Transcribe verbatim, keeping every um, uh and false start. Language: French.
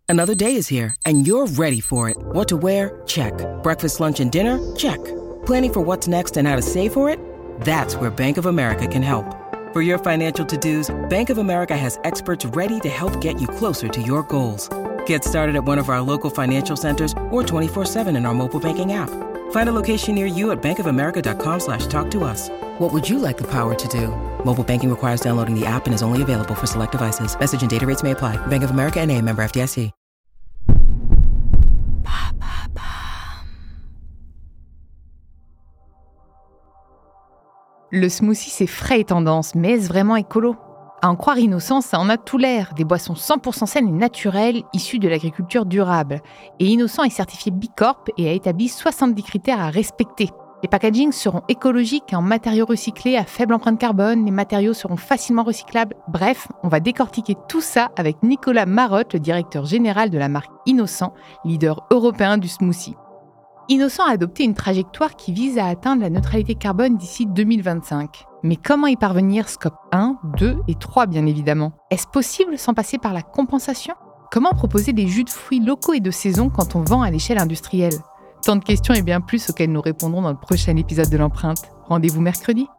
Another day is here, and you're ready for it. What to wear? Check. Breakfast, lunch, and dinner? Check. Planning for what's next and how to save for it? That's where Bank of America can help. For your financial to-dos, Bank of America has experts ready to help get you closer to your goals. Get started at one of our local financial centers or twenty-four seven in our mobile banking app. Find a location near you at bankofamerica.com slash talk to us. What would you like the power to do? Mobile banking requires downloading the app and is only available for select devices. Message and data rates may apply. Bank of America N A, member F D I C. Le smoothie, c'est frais et tendance, mais est-ce vraiment écolo ? À en croire Innocent, ça en a tout l'air. Des boissons cent pour cent saines et naturelles, issues de l'agriculture durable. Et Innocent est certifié B Corp et a établi soixante-dix critères à respecter. Les packagings seront écologiques et en matériaux recyclés à faible empreinte carbone, les matériaux seront facilement recyclables. Bref, on va décortiquer tout ça avec Nicolas Marotte, le directeur général de la marque Innocent, leader européen du smoothie. Innocent a adopté une trajectoire qui vise à atteindre la neutralité carbone d'ici deux mille vingt-cinq. Mais comment y parvenir scope un, deux et trois bien évidemment ? Est-ce possible sans passer par la compensation ? Comment proposer des jus de fruits locaux et de saison quand on vend à l'échelle industrielle ? Tant de questions et bien plus auxquelles nous répondrons dans le prochain épisode de l'Empreinte. Rendez-vous mercredi.